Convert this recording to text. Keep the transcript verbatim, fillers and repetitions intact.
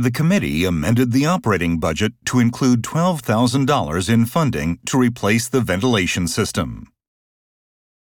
The committee amended the operating budget to include twelve thousand dollars in funding to replace the ventilation system.